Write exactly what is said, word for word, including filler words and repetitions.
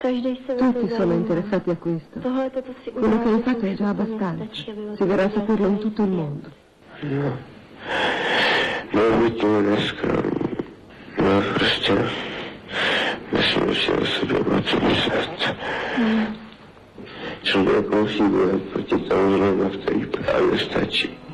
Tutti sono interessati a questo. Quello che hai fatto è già abbastanza. Si verrà a saperlo in tutto il mondo. No. Может быть, немножко, но просто насмешил себе вот это. Человек усиливает против того же, что и правильно стачи.